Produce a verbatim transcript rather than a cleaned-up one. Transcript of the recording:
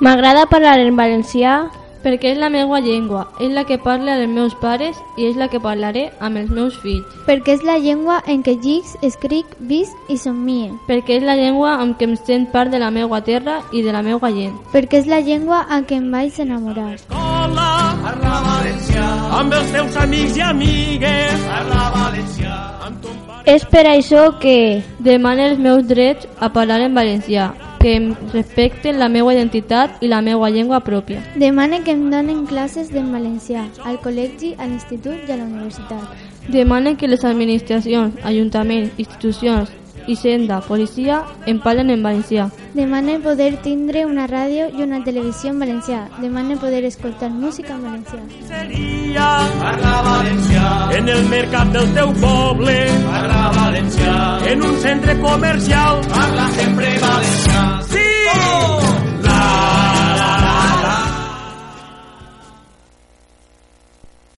M'agrada parlar en valencià perquè és la meva llengua, és la que parlo amb els meus pares i és la que parlaré amb els meus fills. Perquè és la llengua en què llic, escric, visc i somnie. Perquè és la llengua amb què em sent part de la meva terra i de la meva gent. Perquè és la llengua en què em vaig enamorar. Escola, parla valencià, amb els teus amics i amigues, parla valencià, amb ton pare... És per això que demano els meus drets a parlar en valencià, que em respecten la meva identitat i la meva llengua pròpia. Demane que em donen classes en valencià, al col·legi, a l'institut i a la universitat. Demane que les administracions, ajuntaments, institucions, Hisenda, policia, em parlen en valencià. Demane poder tindre una ràdio i una televisió en valencià. Demane poder escoltar música en valencià. Seria, parla valencià, en el mercat del teu poble, parla valencià, en un centre comercial,